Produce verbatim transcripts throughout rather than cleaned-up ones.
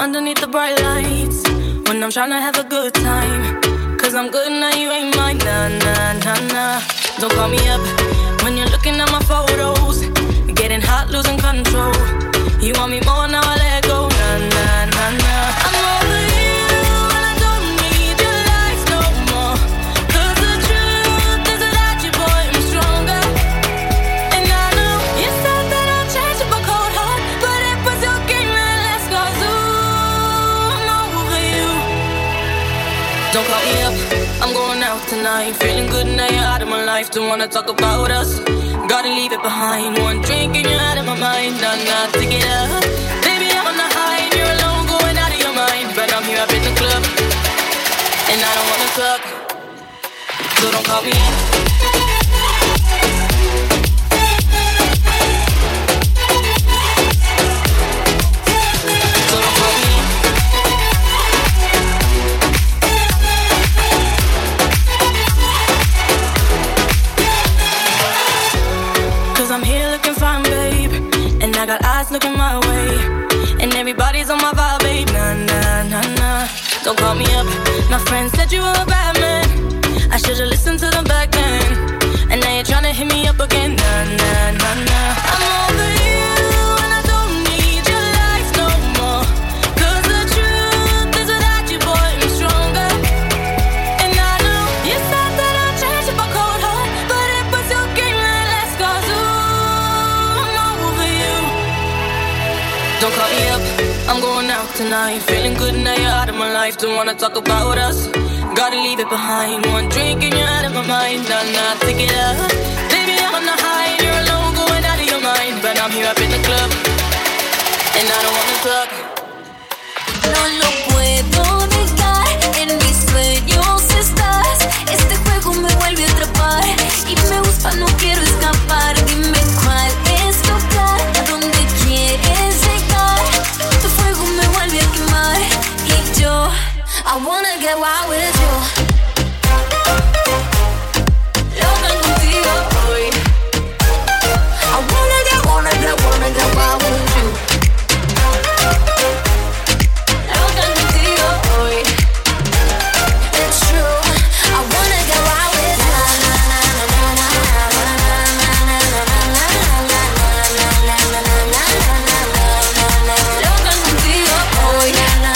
underneath the bright lights when I'm tryna have a good time. Cause I'm good now, you ain't mine. Nah, nah, nah, nah. Don't call me up when you're looking at my photos. Getting hot, losing control. You want me more, now I let go. Nah, nah, nah, nah. I'm over you and I don't need your lies no more. Cause the truth is without you, boy, I'm stronger. And I know you said that I'll change up a cold heart, but it was your game that last. Cause ooh, I'm over you. Don't call me up, I'm going out tonight. Feeling good now you're out of my life. Don't wanna talk about us, gotta leave it behind. One drink and you're out of my mind. Nah, nah, take it up. Baby, I'm on the high and you're alone, going out of your mind. But I'm here up in the club and I don't wanna talk, so don't call me up. I got eyes looking my way, and everybody's on my vibe, babe. Nah, nah, nah, nah. Don't call me up. My friends said you were a bad man. I should've listened to them back then. And now you're tryna hit me up again. Nah, nah, nah, nah. I'm over you and I don't need your lies no more. Cause the truth is without you, boy, I'm stronger. And I know you said that I'll change up a cold heart, but it was your game that last. Cause ooh, I'm over you. Don't call me up, I'm going out tonight. Feeling good now you're out of my life. Don't wanna talk about us, gotta leave it behind. One drink and you're out of my mind. Nah, nah, take it up. Baby, I'm on the high and you're alone, going out of your mind. But I'm here up in the club and I don't wanna talk. No lo puedo negar, en mis sueños estás. Este juego me vuelve a atrapar y me gusta, no quiero escapar. Dime cuál es tu plan, a dónde quieres llegar. Tu fuego me vuelve a quemar y yo, I wanna get wild with you. Loca contigo hoy. I wanna get, wanna get, wanna get wild with you. Loca contigo hoy. It's true, I wanna get wild with you. Loca contigo hoy.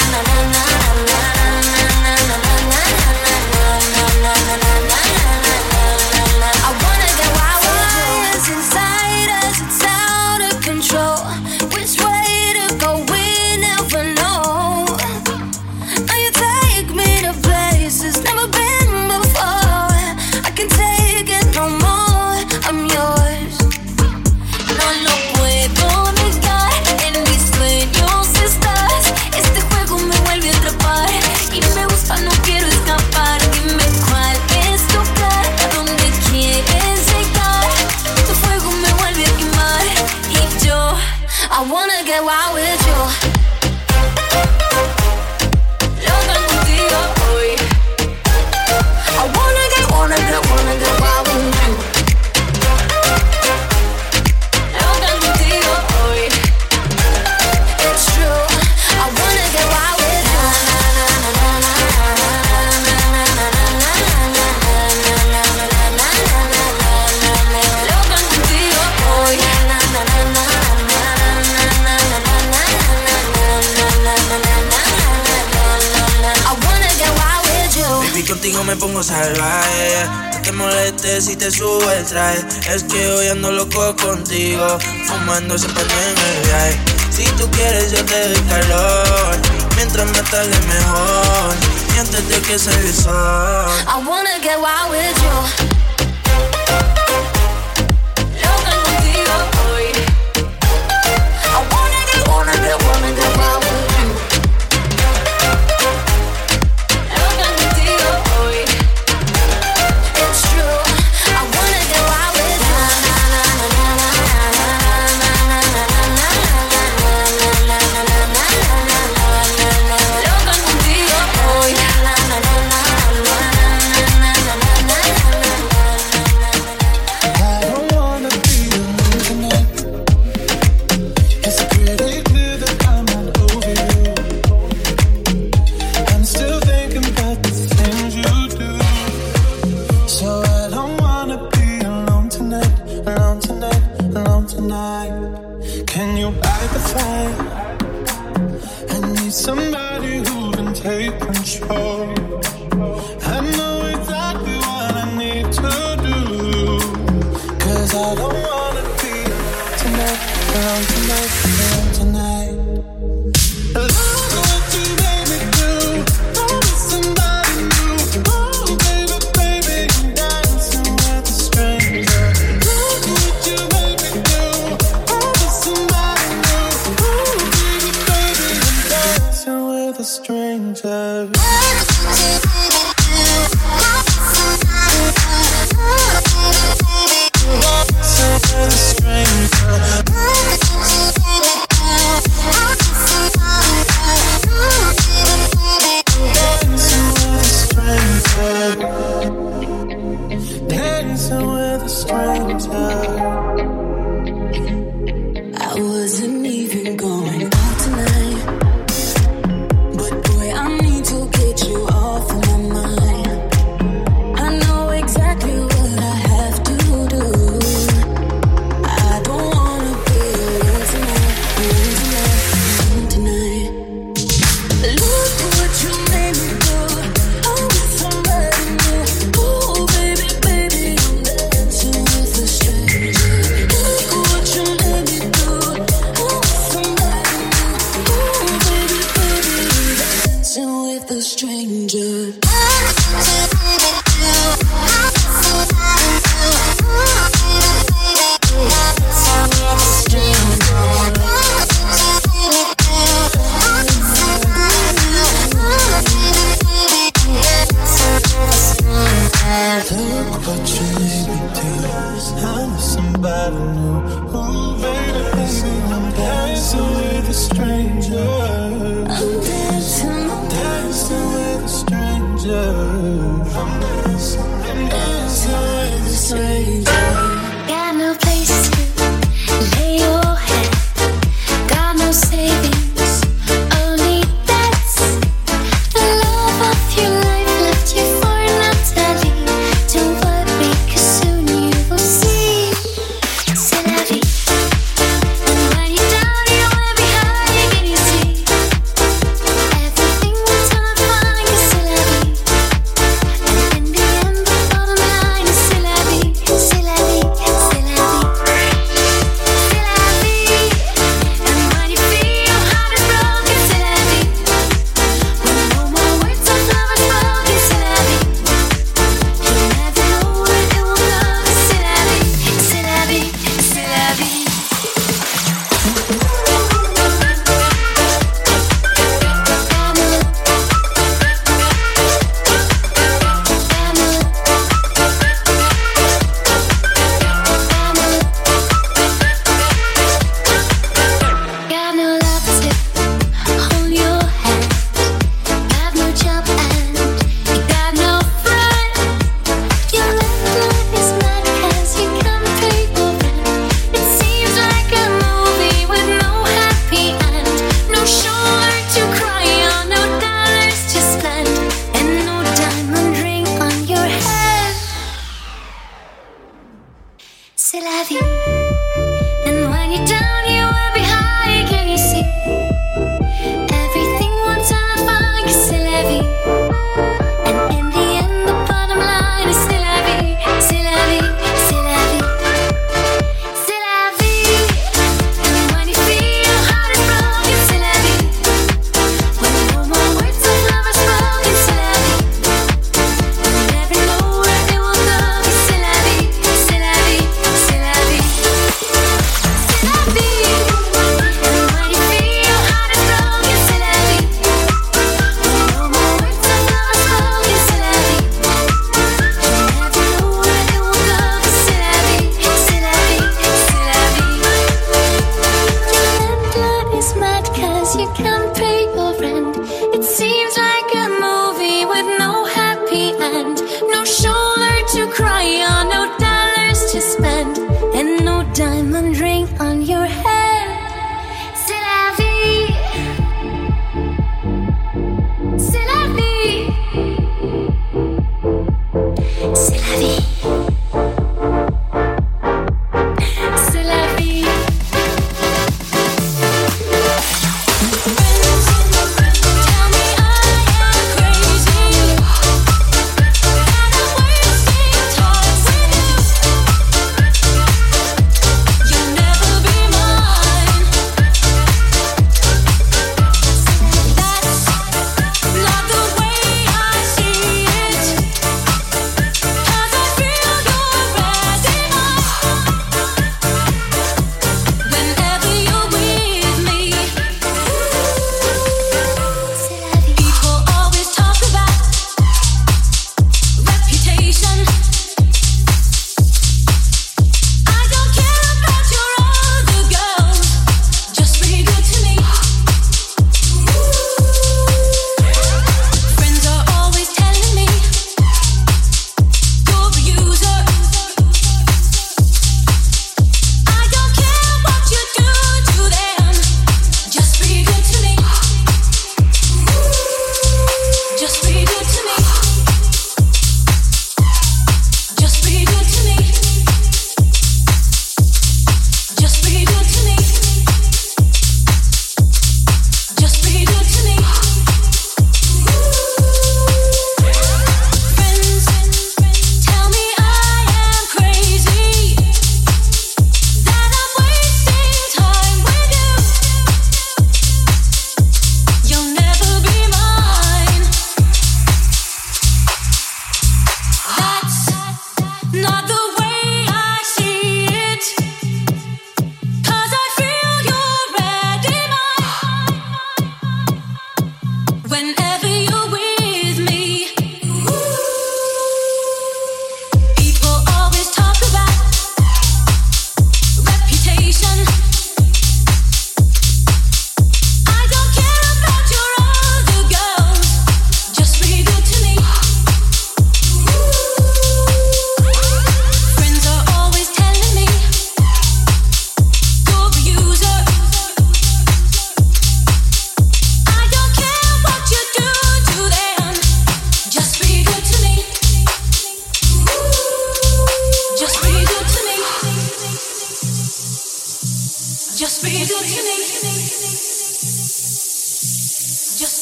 I wanna get wild with you. It's inside us, it's out of control. Which way to go, we never know. Now you take me to places never been before. I can't take it no more, I'm yours. No lo puedo negar, en mis sueños estás. Este juego me vuelve a atrapar y me gusta, no quiero escapar. Dime cuál es tu plan, a dónde quieres llegar. Tu fuego me vuelve a quemar y yo, I wanna get wild with you. Loca contigo hoy. I wanna get, wanna get, wanna get wild with you. Loca contigo hoy. It's true, I wanna get wild with you. Loca contigo hoy. I wanna get wild with you. Baby, contigo me pongo salvaje. No te molestes si te subo el traje. Es que hoy ando loco contigo, fumando ese paño en el viaje. Si tú quieres yo te doy calor, mientras me tarde mejor, y antes de que salga el sol. I wanna get wild with you. Loca contigo hoy. I wanna get, wanna get, wanna get wild with you. Loca contigo hoy. It's true, I wanna get wild with you. Loca contigo hoy. what you need me to. I'm somebody new. Ooh, baby, baby, I'm dancing with a stranger. I'm dancing, dancing with a stranger. I'm dancing, I'm dancing with a stranger. got no place to lay your head, got no savings, only debts. The love of your life left you for Natalie. Don't worry, 'cause soon you will see. C'est la vie. And when you're down, you will be high again, you see. Everything will turn fine, 'cause c'est la vie. And in the end, the bottom line is c'est la vie, c'est la vie, c'est la vie. C'est la vie. And when you feel your heart is broken, c'est la vie. When no more words of love are spoken, c'est la vie. You never know where it will go, c'est la vie, c'est la vie, c'est la vie. Got no love to hold your hand, got no job and you got no friend. Your landline is mad 'cause you can't pay your rent. It seems like a movie with no happy end. No shoulder to cry on, no dollars to spend, and no diamond ring on your head. C'est la vie. And when you're down, you will be high, can you see? Everything will turn fine, 'cause c'est la vie. And in the end, the bottom line is c'est la vie, c'est la vie, c'est la vie. C'est la vie. And when you feel your heart is broken, c'est la vie. When no more words of love are spoken, c'est la vie. You never know where it will go, c'est la vie, c'est la vie, c'est la vie. C'est la vie. And when you feel your heart is broken, c'est la vie. When no more words of love are spoken, c'est la vie. You never know where it will go, c'est la vie, c'est la vie, c'est la vie. Your landlord is mad 'cause you can't pay your rent. It seems like a movie with no happy end. No shoulder to cry on, no dollars to spend, and no diamond ring on your head. C'est la vie. C'est la vie. C'est la vie. C'est la vie. Tell me I am crazy, and I'm wasting time with you. You'll never be mine. That's not the way I see it. 'Cause I feel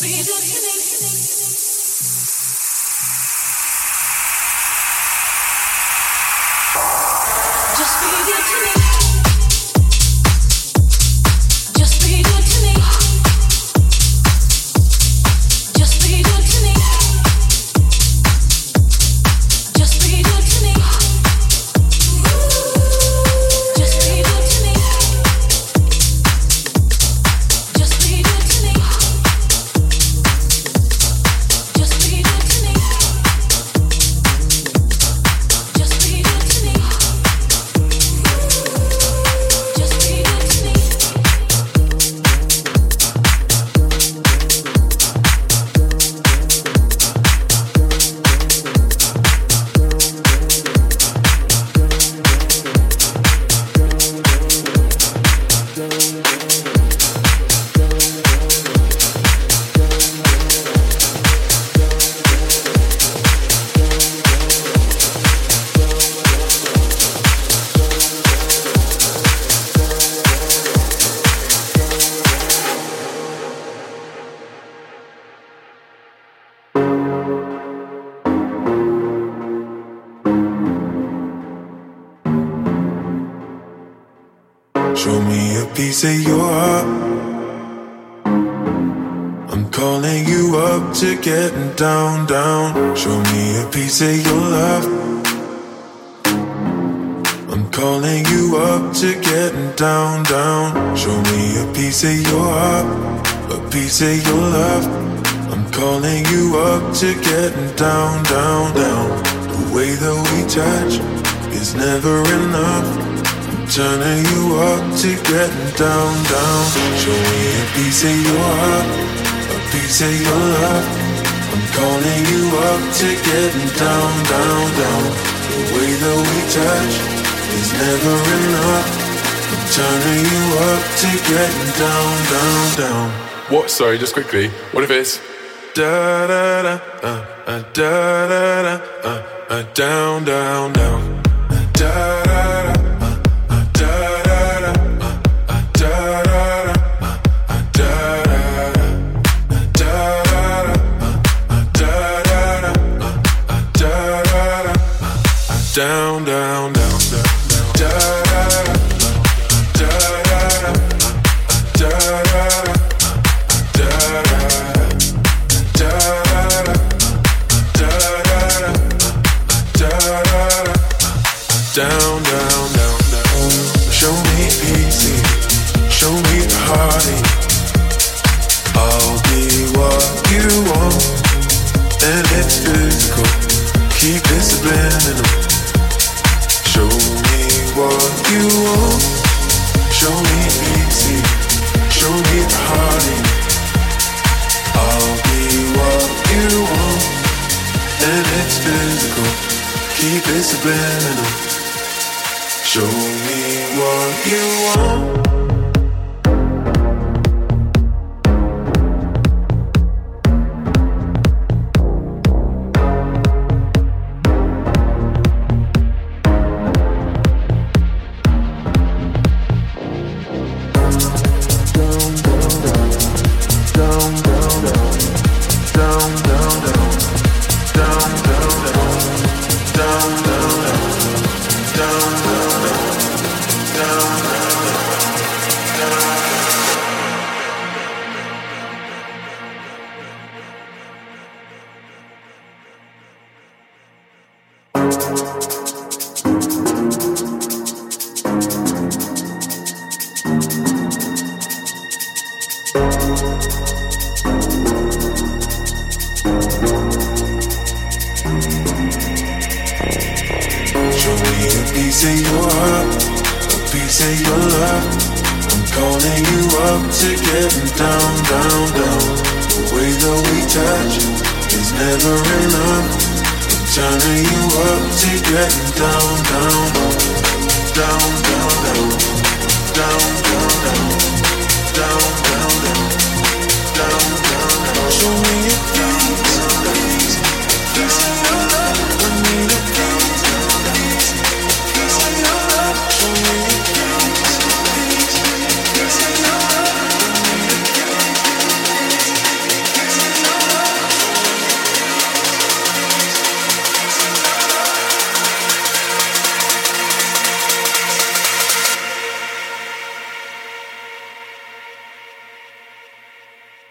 Show me a piece of your heart. I'm calling you up to getting down, down. Show me a piece of your love. I'm calling you up to getting down, down. Show me a piece of your heart, a piece of your love. I'm calling you up to getting down, down, down. The way that we touch is never enough. Turning you up to getting down, down. Show me a piece of your heart, a piece of your love. I'm calling you up to getting down, down, down. The way that we touch is never enough. I'm turning you up to getting down, down, down. What? Sorry, just quickly. What if it's da da da uh, uh, da da da uh, uh, down, down, down. Da da da. Down, down, down, down, da da da da da da down, down, down, down. Show me easy, show me the heartache. I'll be what you want, and it's physical. Keep it subliminal. Show me what you want. Show me easy. Show me the heartache. I'll be what you want, and it's physical. Keep it subliminal. Show me what you want.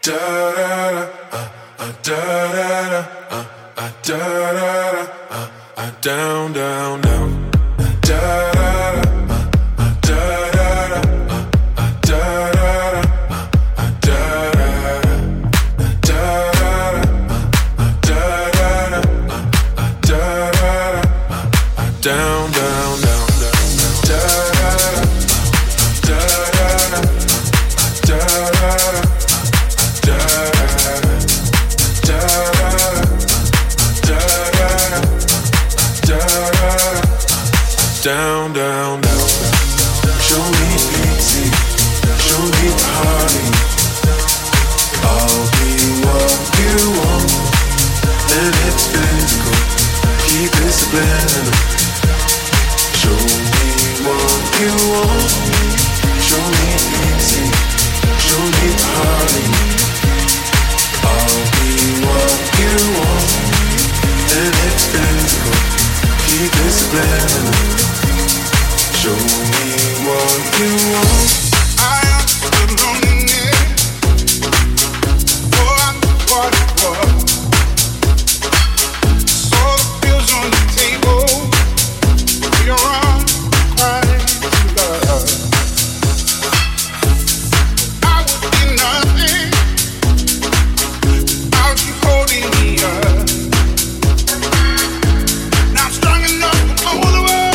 Down, down, down. Da da da. Down, down, down, da da da da da down, down, down. Show me easy, show me party. I'll be what you want, and it's physical. Keep it subliminal. Show me what you want. Show me easy, show me party. I'll be what you want, and it's physical. Keep it subliminal. Show me what you want. I am the loneliness. Oh, I know what it was. Saw the pills on the table. We are on crying to love. I would be nothing without you holding me up. Now I'm strong enough to hold the world.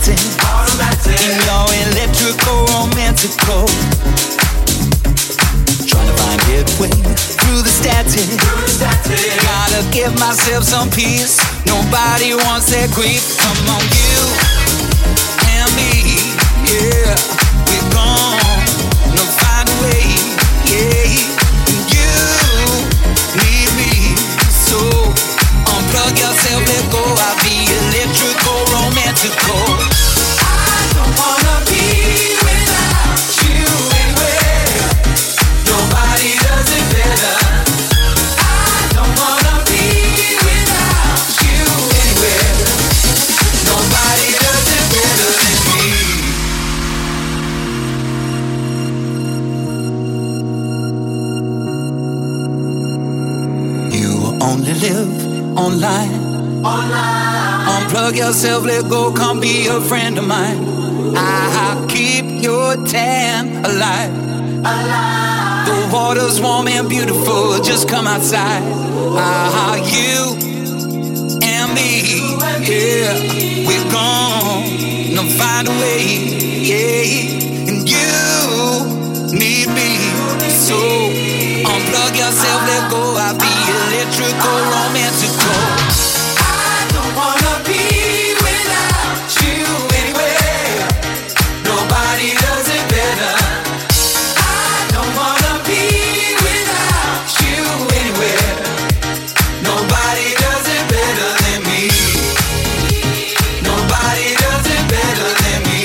automatic, automatic. In your electrical, romantical. Trying to find headway through the static. Through the static. Gotta give myself some peace. Nobody wants that grief. Come on, you and me, yeah. We're gonna find a way, yeah. And you need me, so unplug yourself, let go. I'll be electrical, romantical. I don't wanna be without you anywhere. Nobody does it better. I don't wanna be without you anywhere. Nobody does it better than me. You only live online. Online. Unplug yourself, let go, come be a friend of mine. I'll keep your tan alive. Alive. The water's warm and beautiful, just come outside. Ah, you and me, yeah. We're gonna find a way, yeah. And you need me, so unplug yourself, let go. I'll be electrical, romantical. I don't wanna be without you anywhere. Nobody does it better. I don't wanna be without you anywhere. Nobody does it better than me. Nobody does it better than me.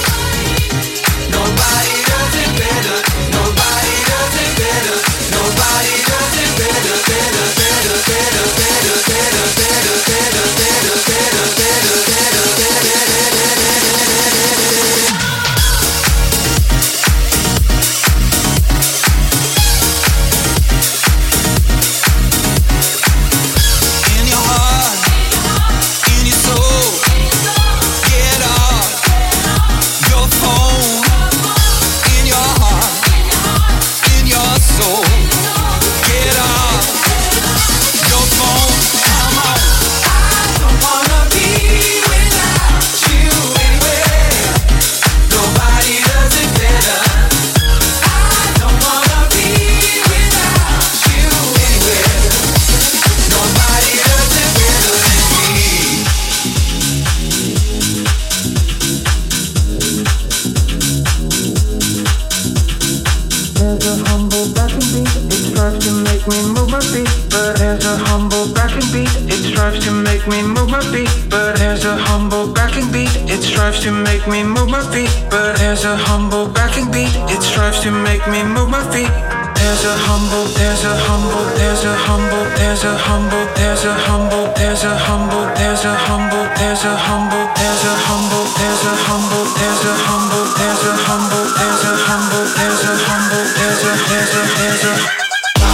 Nobody does it better. Nobody does it better. Nobody does it better, better, better, better, better, better, better, better, better, better, better, better, in your heart, in your soul, get off your phone. In your heart, in your soul, get off your phone. Come on. I don't wanna be without you anywhere. Nobody does it better. I don't wanna be without you anywhere. Nobody does it better than me. There's a humble backing beat, it strives to make me move my feet. But there's a humble backing beat, it strives to make me move my feet. But there's a humble backing beat, it strives to make me move my feet. But there's a humble backing beat, it strives to make me move my feet. There's a humble, there's a humble, there's a humble, there's a humble, there's a humble, there's a humble, there's a humble, there's a humble, there's a humble, there's a humble, there's a humble, there's a humble, there's a humble, there's a humble, there's a there's a there's a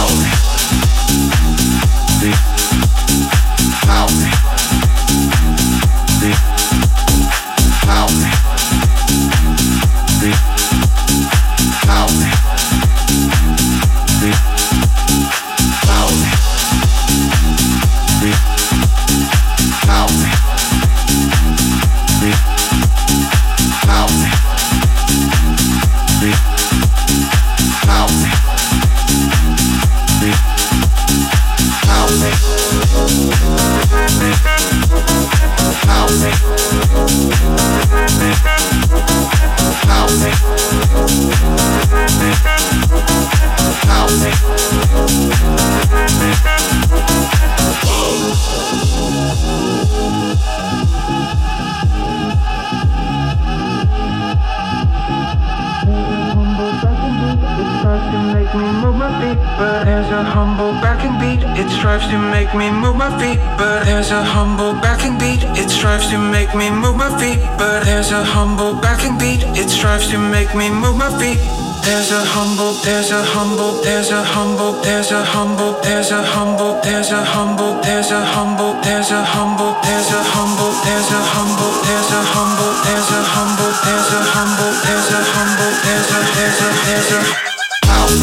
strives to make me move my feet, but there's a humble backing beat. It strives to make me move my feet, but there's a humble backing beat. It strives to make me move my feet. There's a humble, there's a humble, there's a humble, there's a humble, there's a humble, there's a humble, there's a humble, there's a humble, there's a humble, there's a humble, there's a humble, there's a humble, there's a humble, there's a humble, there's a there's a there's a house.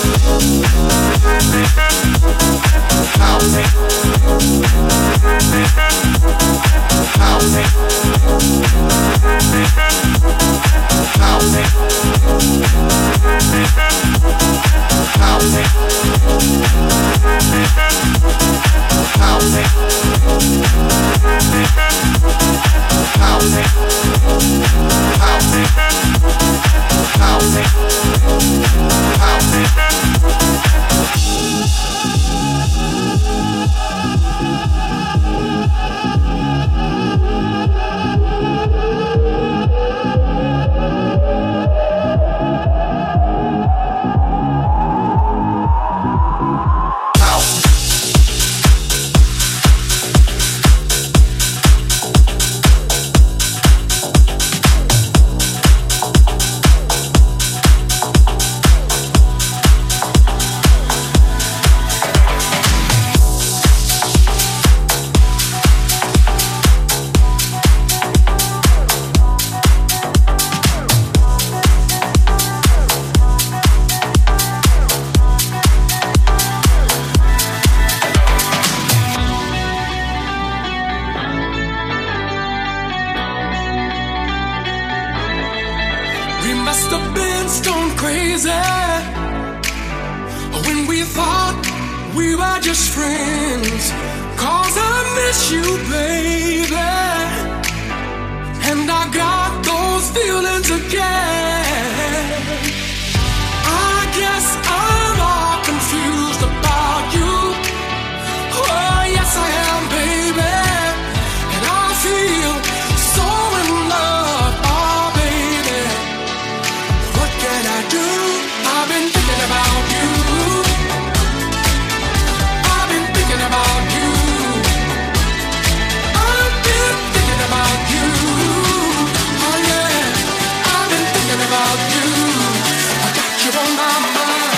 House. House. must have been stone crazy when we thought we were just friends. 'Cause I miss you, baby, and I got those feelings again. I guess I'm all confused about you. Oh, yes I am, baby, and I feel so in love, oh baby. What can I do? I've been thinking about you. I've been thinking about you. I've been thinking about you. Oh yeah, I've been thinking about you. I got you on my mind.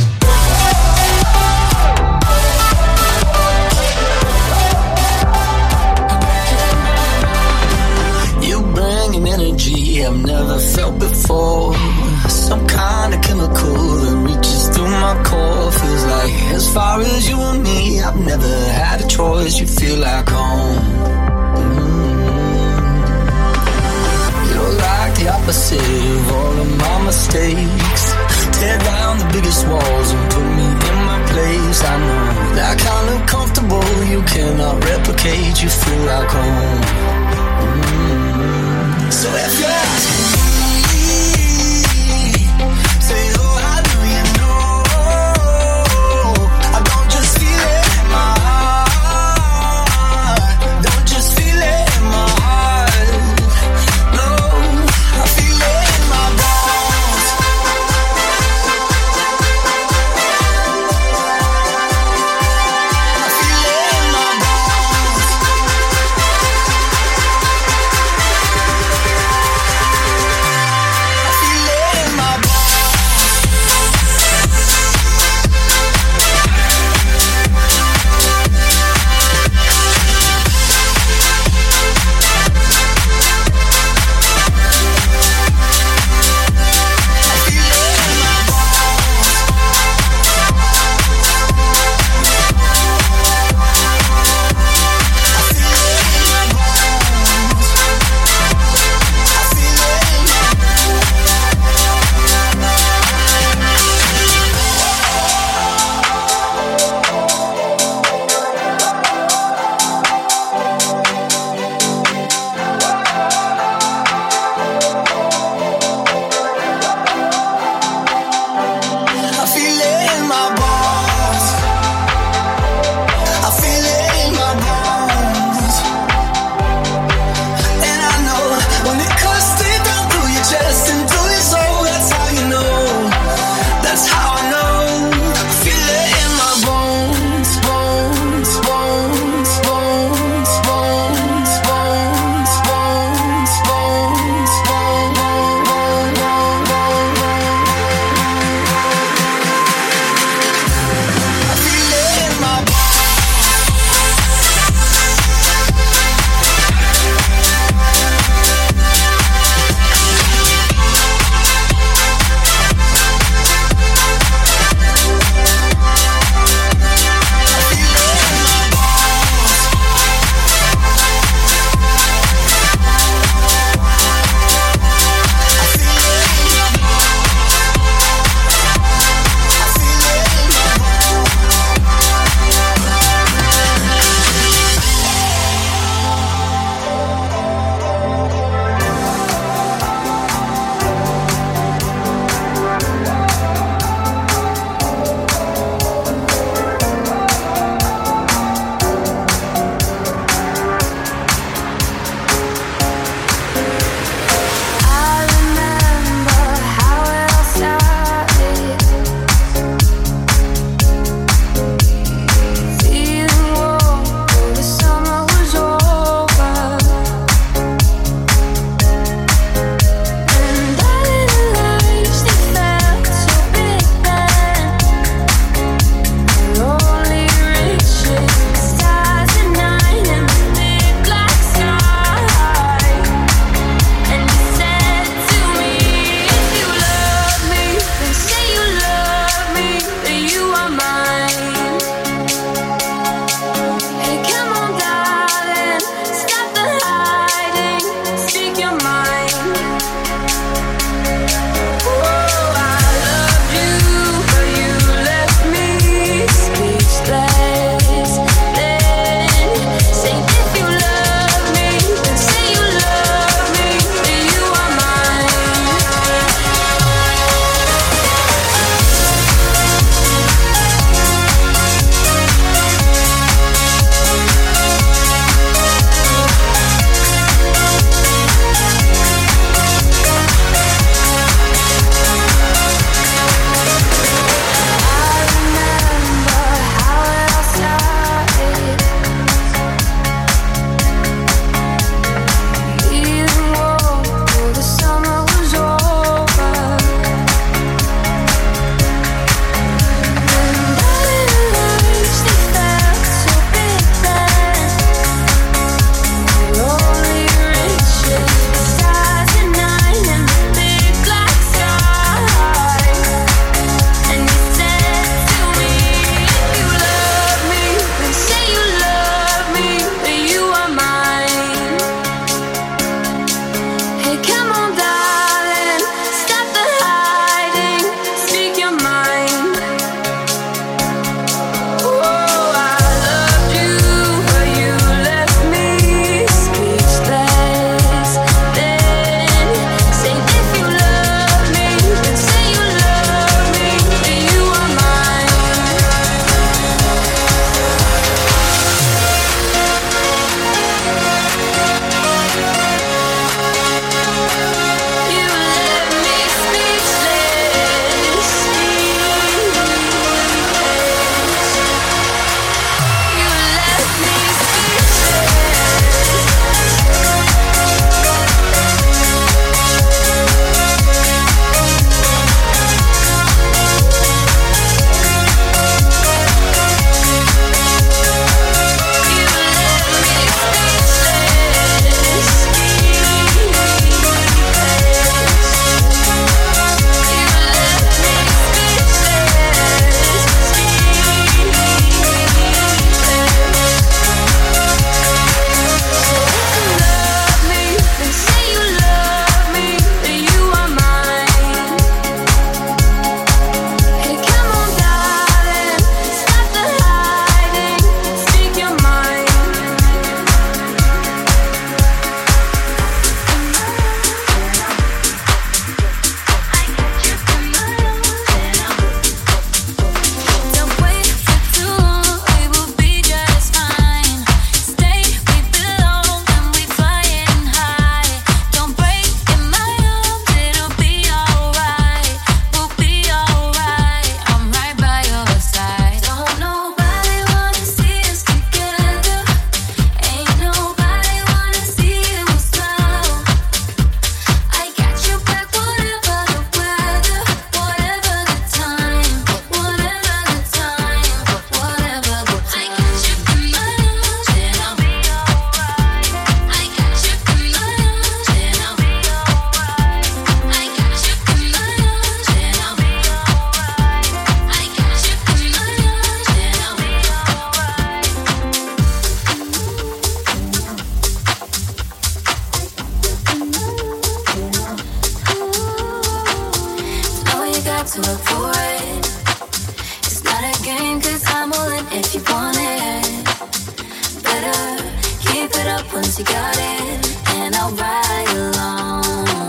You bring an energy I've never felt before. Some kind of chemical that reaches through my core. Feels like as far as you and me, I've never had a choice. You feel like home. Mm-hmm. You're like the opposite of all of my mistakes. Tear down the biggest walls and put me in my place. I know that kind of comfortable you cannot replicate. You feel like home. Mm-hmm. So if you ask me, say, oh, how do you know? I don't just feel it in my heart. Don't just feel it in my heart. No, I feel it in my bones. I feel it in my bones. got to look for it. It's not a game, cause I'm all in if you want it. Better keep it up once you got it, and I'll ride along.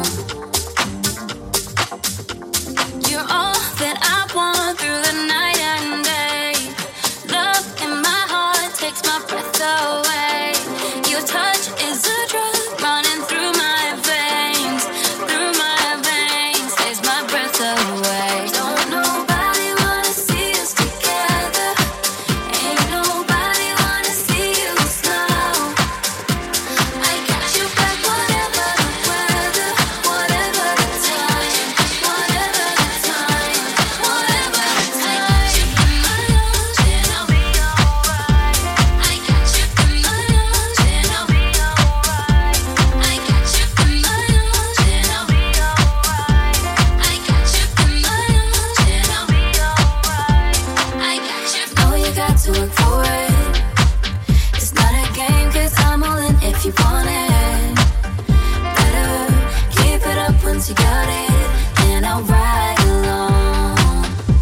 You're all that I want through the night and day. Love in my heart takes my breath away. Your touch is a drug running through my veins, through my veins, takes my breath away. Don't nobody wanna see us together. Ain't nobody wanna see you slow. I got you back, whatever the weather, whatever the time, whatever the time, whatever the time. I got you in my arms and I'll be alright. I got you in my arms and I'll be alright. I got you in my arms and I'll be alright. I got you in my arms and I'll be alright. I got you. Know you got to work for it. It's not a game, cause I'm all in if you want it. Better keep it up once you got it, and I'll ride along.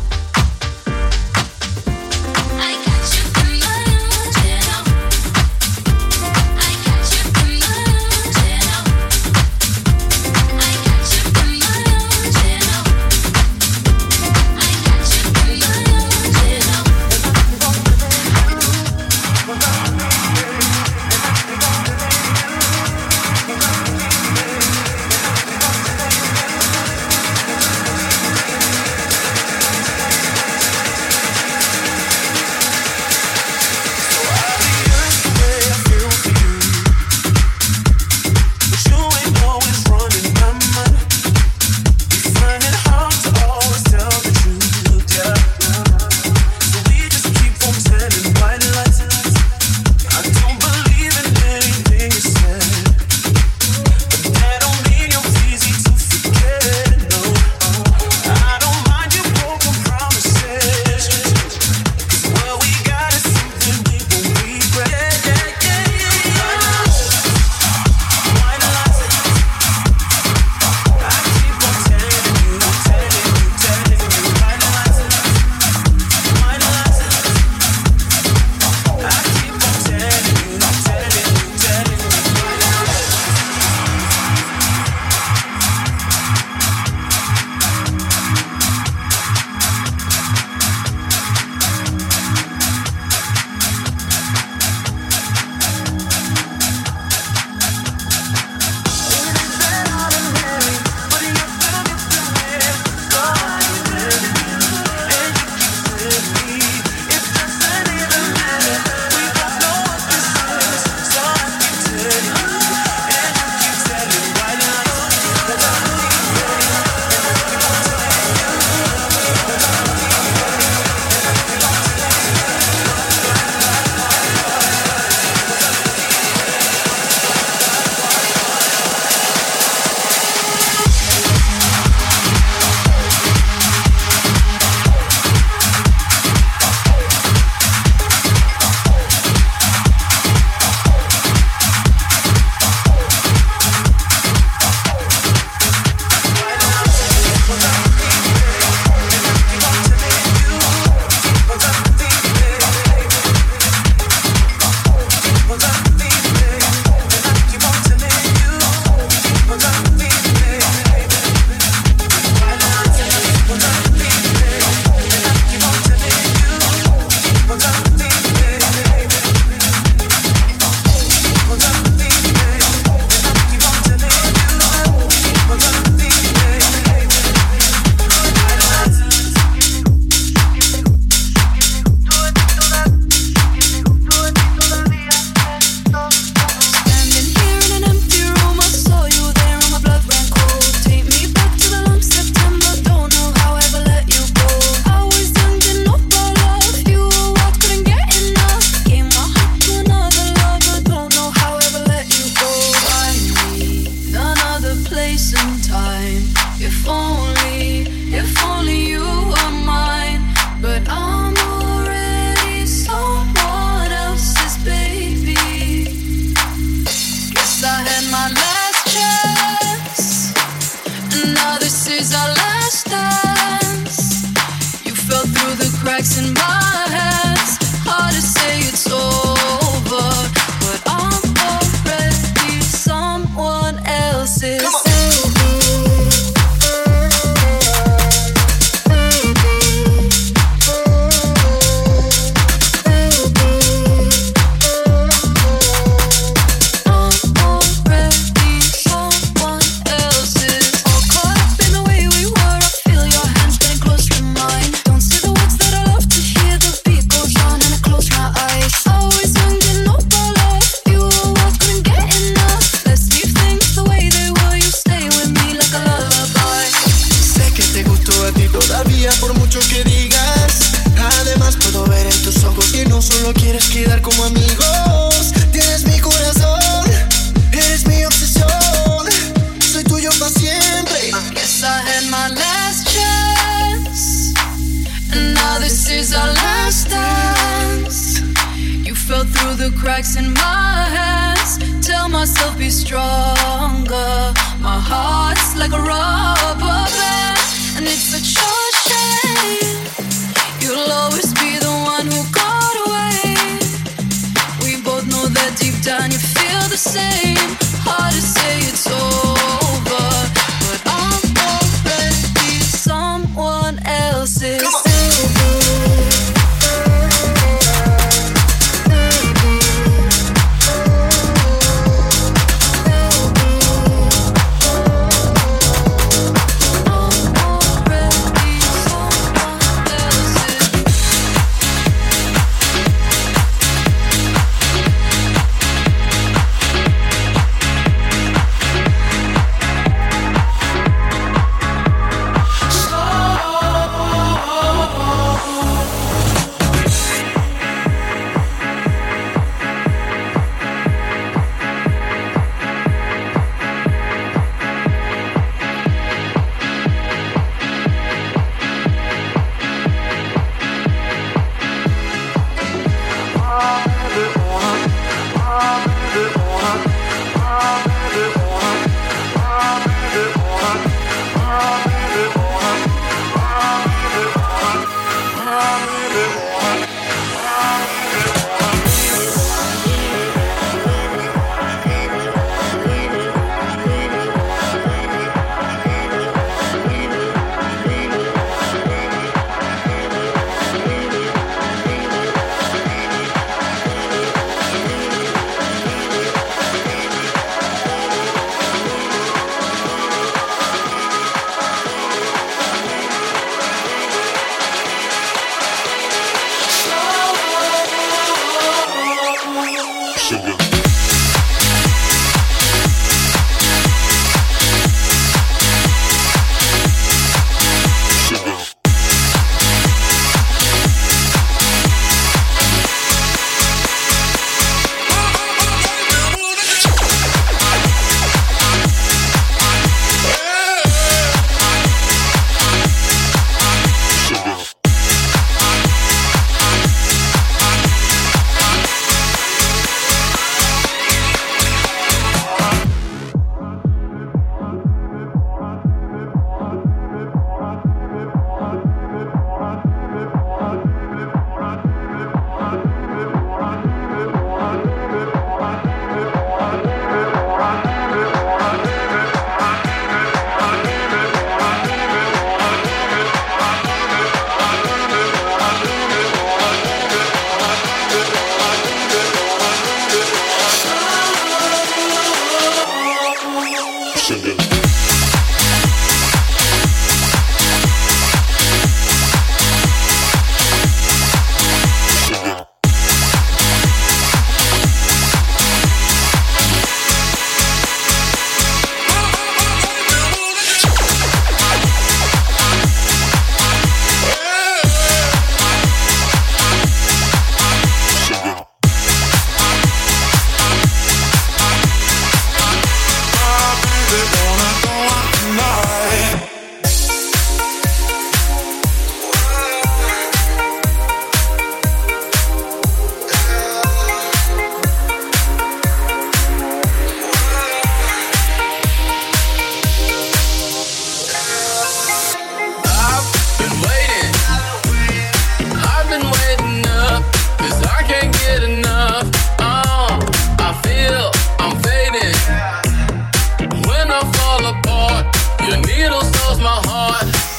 I got you in my arms and I'll I got you in my arms and I'll I got you in my arms and I'll I got you in my arms and I'll solo quieres quedar como amigos. Tienes mi corazón, eres mi obsesión. Soy tuyo para siempre. I guess I had my last chance, and now this is our last dance. You fell through the cracks in my hands. Tell myself be stronger. My heart's like a rubber band, and it's such a shame. You'll always be the one who got away. We both know that deep down you feel the same. Hard to say it's over, but I'm already someone else's. Come on. Your needle stores my heart.